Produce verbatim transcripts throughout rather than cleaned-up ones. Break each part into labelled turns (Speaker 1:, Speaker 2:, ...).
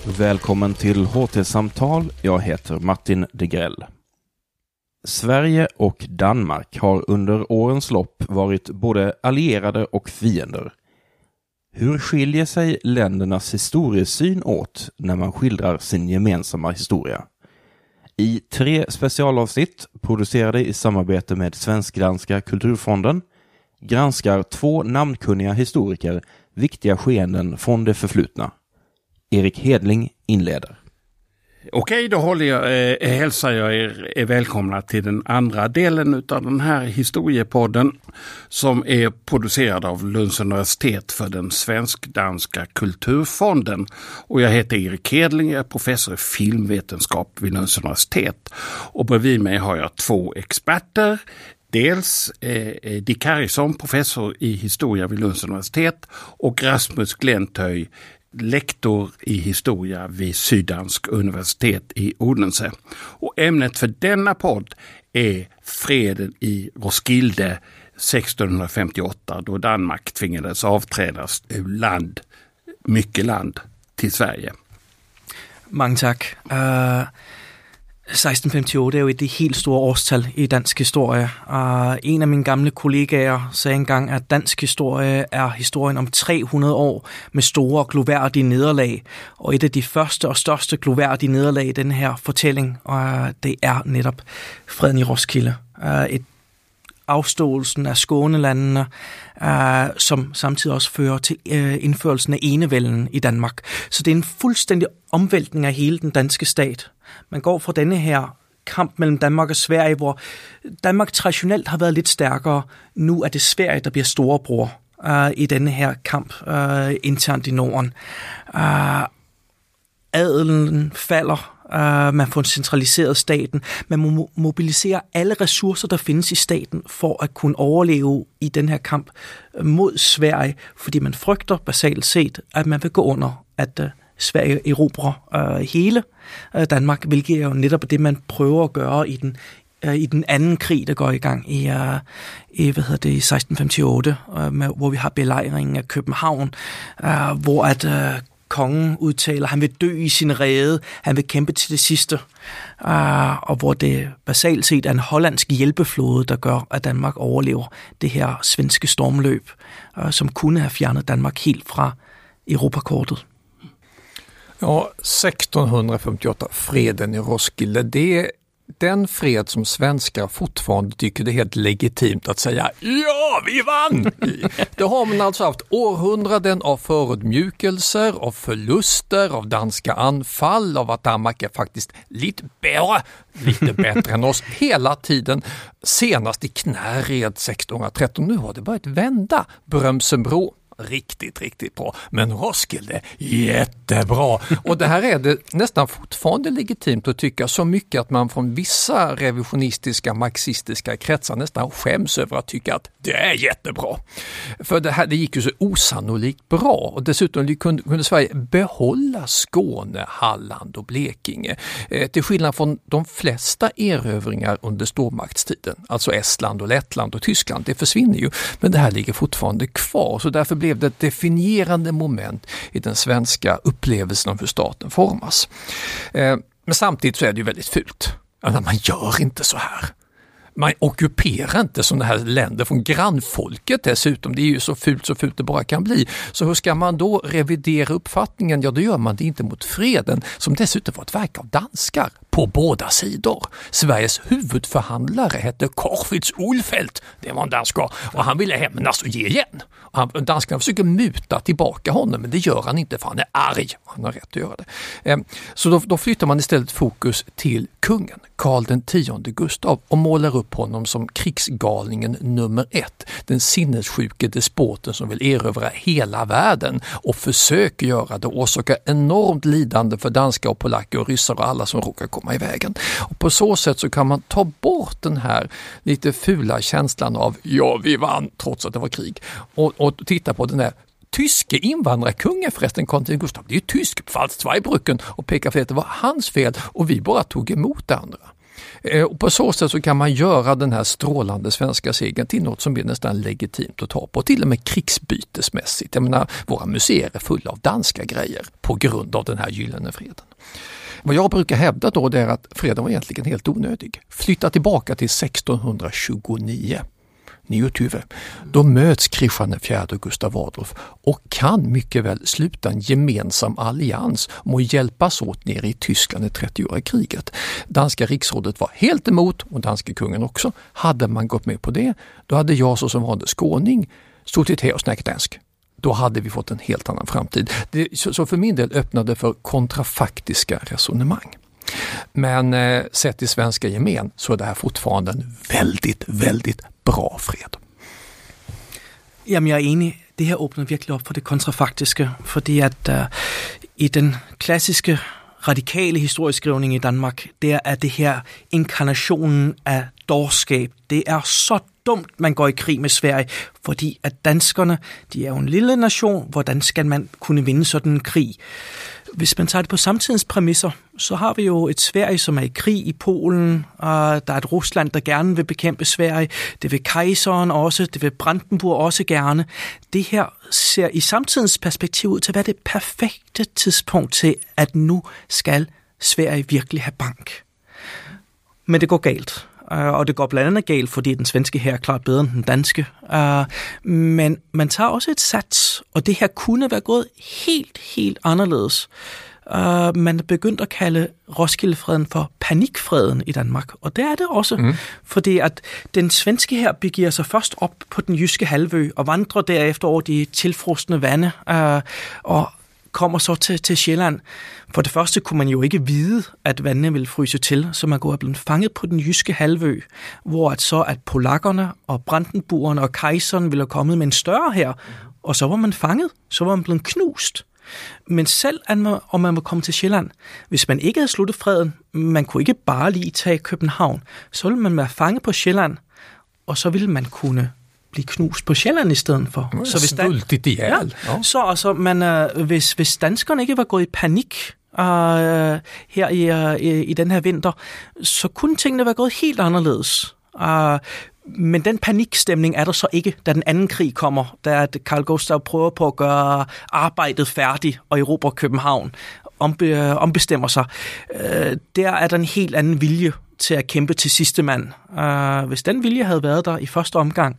Speaker 1: Välkommen till H T-samtal. Jag heter Martin Degrell. Sverige och Danmark har under årens lopp varit både allierade och fiender. Hur skiljer sig ländernas historiesyn åt när man skildrar sin gemensamma historia? I tre specialavsnitt producerade i samarbete med Svensk-danska kulturfonden granskar två namnkunniga historiker viktiga skeenden från det förflutna. Erik Hedling inleder.
Speaker 2: Okej, då håller jag, eh, hälsar jag er är välkomna till den andra delen av den här historiepodden som är producerad av Lunds universitet för den Svensk-danska kulturfonden. Och jag heter Erik Hedling, jag är professor i filmvetenskap vid Lunds universitet. Och bredvid mig har jag två experter. Dels eh, Dick Harrison, professor i historia vid Lunds universitet, och Rasmus Glentöj, lektor i historia vid Syddansk universitet i Odense. Och ämnet för denna podd är freden i Roskilde sexton femtioåtta, då Danmark tvingades avträdas ur land, mycket land, till Sverige.
Speaker 3: Mange tak. Uh, seksten femtioåtte er jo et det helt store årstal i dansk historie. Uh, en af mine gamle kollegaer sagde engang, at dansk historie er historien om tre hundrede år med store gloværdige nederlag. Og et af de første og største gloværdige nederlag i den her fortælling, uh, det er netop freden i Roskilde. Uh, et afståelsen af Skånelandene, uh, som samtidig også fører til uh, indførelsen af enevælden i Danmark. Så det er en fuldstændig omvæltning af hele den danske stat. Man går fra denne her kamp mellem Danmark og Sverige, hvor Danmark traditionelt har været lidt stærkere. Nu er det Sverige, der bliver storebror uh, i denne her kamp uh, internt i Norden. Uh, adelen falder. Uh, man får centraliseret staten. Man må mobilisere alle ressourcer, der findes i staten, for at kunne overleve i den her kamp mod Sverige, fordi man frygter basalt set, at man vil gå under, at uh, Sverige erobrer uh, hele uh, Danmark, hvilket er jo netop det, man prøver at gøre i den uh, i den anden krig, der går i gang i, uh, i hvad hedder det, i seksten femtioåtte, uh, med, hvor vi har belejringen af København, uh, hvor at uh, kongen udtaler, han vil dø i sin rede, han vil kæmpe til det sidste, uh, og hvor det basalt set er en hollandsk hjælpeflåde, der gør, at Danmark overlever det her svenske stormløb, uh, som kunne have fjernet Danmark helt fra Europakortet.
Speaker 4: Ja, sexton femtioåtta, freden i Roskilde, det är den fred som svenskar fortfarande tycker det är helt legitimt att säga ja, vi vann! Det har man alltså haft århundraden av förödmjukelser, av förluster, av danska anfall, av att Danmark är faktiskt lite bättre, lite bättre än oss hela tiden. Senast i Knäred sexton tretton, nu har det börjat vända. Brömsenbro, riktigt, riktigt bra. Men Roskilde, jättebra. Och det här är det nästan fortfarande legitimt att tycka så mycket att man från vissa revisionistiska, marxistiska kretsar nästan skäms över att tycka att det är jättebra. För det här, det gick ju så osannolikt bra. Och dessutom kunde, kunde Sverige behålla Skåne, Halland och Blekinge. Eh, till skillnad från de flesta erövringar under stormaktstiden. Alltså Estland och Lettland och Tyskland. Det försvinner ju. Men det här ligger fortfarande kvar. Så därför blev det ett definierande moment i den svenska upplevelsen av hur staten formas. Eh, men samtidigt så är det ju väldigt fult. Alltså, man gör inte så här. Man ockuperar inte sådana här länder från grannfolket dessutom. Det är ju så fult så fult det bara kan bli. Så hur ska man då revidera uppfattningen? Ja, då gör man det inte mot freden, som dessutom var ett verk av danskar på båda sidor. Sveriges huvudförhandlare hette Corfitz Ulfeldt. Det var en danskar. Och han ville hämnas och ge igen. Och han, danskarna försöker muta tillbaka honom, men det gör han inte för han är arg. Han har rätt att göra det. Så då, då flyttar man istället fokus till kungen, Karl den tionde Gustav, och målar upp honom som krigsgalningen nummer ett. Den sinnessjuke despoten som vill erövra hela världen och försöker göra det och orsakar enormt lidande för danska och polacker och ryssar och alla som råkar komma i vägen. Och på så sätt så kan man ta bort den här lite fula känslan av ja, vi vann trots att det var krig och, och titta på den här tyske invandrarkungen förresten, Karl den Gustav. Det är ju tysk på Pfalz-Zweibrücken och pekar för att det var hans fel och vi bara tog emot det andra. Och på så sätt så kan man göra den här strålande svenska segern till något som blir nästan legitimt att ta på, till och med krigsbytesmässigt. Jag menar, våra museer är fulla av danska grejer på grund av den här gyllene freden. Vad jag brukar hävda då är att freden var egentligen helt onödig. Flytta tillbaka till sextonhundratjugonio. Nio Tuve. Då möts Kristian den fjärde och Gustav Adolf och kan mycket väl sluta en gemensam allians om att hjälpas åt nere i Tyskland i trettioåriga kriget. Danska riksrådet var helt emot, och danska kungen också. Hade man gått med på det, då hade jag så som var det skåning stått till och snackat dansk. Då hade vi fått en helt annan framtid. Det, så, så för min del öppnade för kontrafaktiska resonemang. Men eh, sett i svenska gemen så är det här fortfarande en väldigt, väldigt bra fred.
Speaker 3: Jamen, jeg er enig. Det her åbner virkelig op for det kontrafaktiske, fordi at uh, i den klassiske radikale historieskrivning i Danmark, der er det her inkarnationen af dårskab. Det er så dumt, man går i krig med Sverige, fordi at danskerne, de er jo en lille nation, hvordan skal man kunne vinde sådan en krig? Hvis man tager det på samtidens præmisser, så har vi jo et Sverige, som er i krig i Polen, og der er et Rusland, der gerne vil bekæmpe Sverige. Det vil kejseren også, det vil Brandenburg også gerne. Det her ser i samtidens perspektiv ud til at være det perfekte tidspunkt til, at nu skal Sverige virkelig have bank. Men det går galt. Og det går blandt andet galt, fordi den svenske her er klart bedre end den danske. Men man tager også et sats, og det her kunne være gået helt, helt anderledes. Man er begyndt at kalde Roskildefreden for panikfreden i Danmark, og det er det også, mm. fordi at den svenske her begiver sig først op på den jyske halvø og vandrer derefter over de tilfrosne vande og kommer så til, til Sjælland. For det første kunne man jo ikke vide, at vandene ville fryse til, så man kunne have blevet fanget på den jyske halvø, hvor at så at polakkerne og brandenburgerne og kejseren ville have kommet med en større her, og så var man fanget, så var man blevet knust. Men selv om man var kommet til Sjælland, hvis man ikke havde sluttet freden, man kunne ikke bare lige tage København, så ville man være fanget på Sjælland, og så ville man kunne blive knust på Sjælland i stedet for.
Speaker 4: Mm, så hvis dan- ja,
Speaker 3: ja. Så altså, man, øh, hvis, hvis danskerne ikke var gået i panik øh, her i, øh, i den her vinter, så kunne tingene være gået helt anderledes. Øh, men den panikstemning er der så ikke, da den anden krig kommer, da Carl Gustaf prøver på at gøre arbejdet færdigt og erobre København, ombe, ombestemmer sig. Øh, der er der en helt anden vilje til at kæmpe til sidste mand. Øh, hvis den vilje havde været der i første omgang,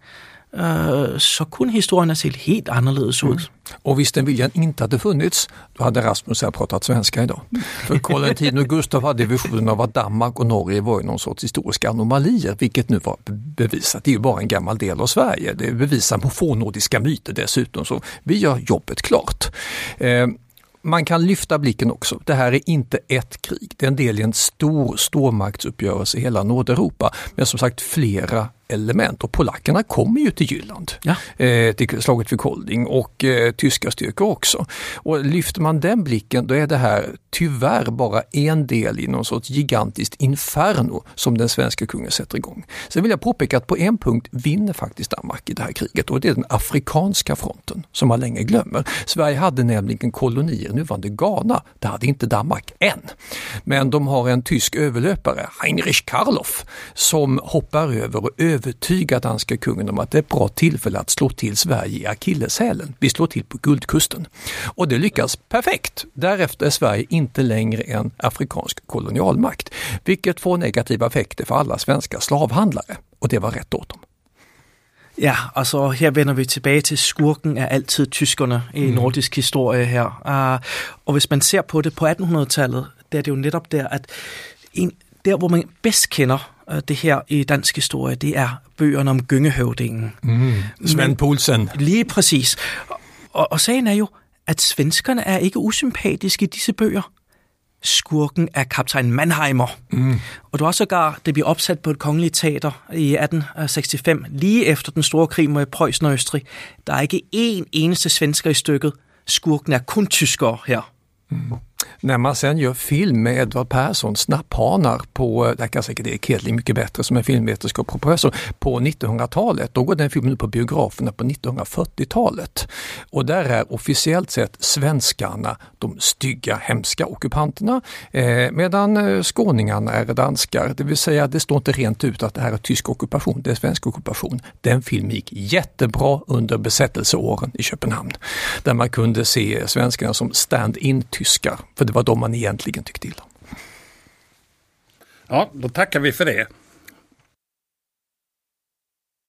Speaker 3: så kunne historien ha sett helt annorledes ut. Mm.
Speaker 4: Och visst den viljan inte hade funnits, då hade Rasmus här pratat svenska idag. För Karl X och Gustav hade visionen av att Danmark och Norge var någon sorts historiska anomalier, vilket nu var bevisat. Det är ju bara en gammal del av Sverige. Det är bevisat på fornnordiska myter dessutom, så vi gör jobbet klart. Eh, Man kan lyfta blicken också. Det här är inte ett krig. Det är en del i en stor stormaktsuppgörelse i hela Nordeuropa. Men som sagt flera element. Och polackerna kommer ju till Jylland. Ja. Eh, till slaget vid Kolding och eh, tyska styrkor också. Och lyfter man den blicken, då är det här tyvärr bara en del i någon sorts gigantiskt inferno som den svenska kungen sätter igång. Sen vill jag påpeka att på en punkt vinner faktiskt Danmark i det här kriget, och det är den afrikanska fronten som man länge glömmer. Sverige hade nämligen kolonier nuvarande Ghana. Det hade inte Danmark än. Men de har en tysk överlöpare, Heinrich Karloff, som hoppar över och övertygar danska kungen om att det är ett bra tillfälle att slå till Sverige i akilleshälen. Vi slår till på Guldkusten. Och det lyckas perfekt. Därefter är Sverige inte längre en afrikansk kolonialmakt, vilket får negativa effekter för alla svenska slavhandlare. Och det var rätt åt dem.
Speaker 3: Ja, altså her vender vi tilbage til skurken er altid tyskerne i mm. nordisk historie her. Uh, og hvis man ser på det på attenhundredetallet, der er det jo netop der, at en, der hvor man bedst kender uh, det her i dansk historie, det er bøgerne om Gyngehøvdingen.
Speaker 4: Mm. Svend Poulsen.
Speaker 3: Lige præcis. Og, og sagen er jo, at svenskerne er ikke usympatiske i disse bøger. Skurken er kaptajn Mannheimer. Mm. Og det var sågar, det blev opsat på et kongeligt teater i atten sekstifem, lige efter den store krig mod Preussen og Østrig. Der er ikke én eneste svensker i stykket. Skurken er kun tyskere her.
Speaker 4: Mm. När man sen gör film med Edvard Persson, Snapphanar, på, där kan säkert Erik Hedling mycket bättre som är filmvetenskap och professor, på nittonhundratalet, då går den filmen på biograferna på nittonhundrafyrtiotalet. Och där är officiellt sett svenskarna de stygga, hemska ockupanterna, eh, medan eh, skåningarna är danskar. Det vill säga, det står inte rent ut att det här är tysk ockupation, det är svensk ockupation. Den filmen gick jättebra under besättelseåren i Köpenhamn, där man kunde se svenskarna som stand-in-tyskar, för det var de man egentligen tyckte illa.
Speaker 2: Ja, då tackar vi för det.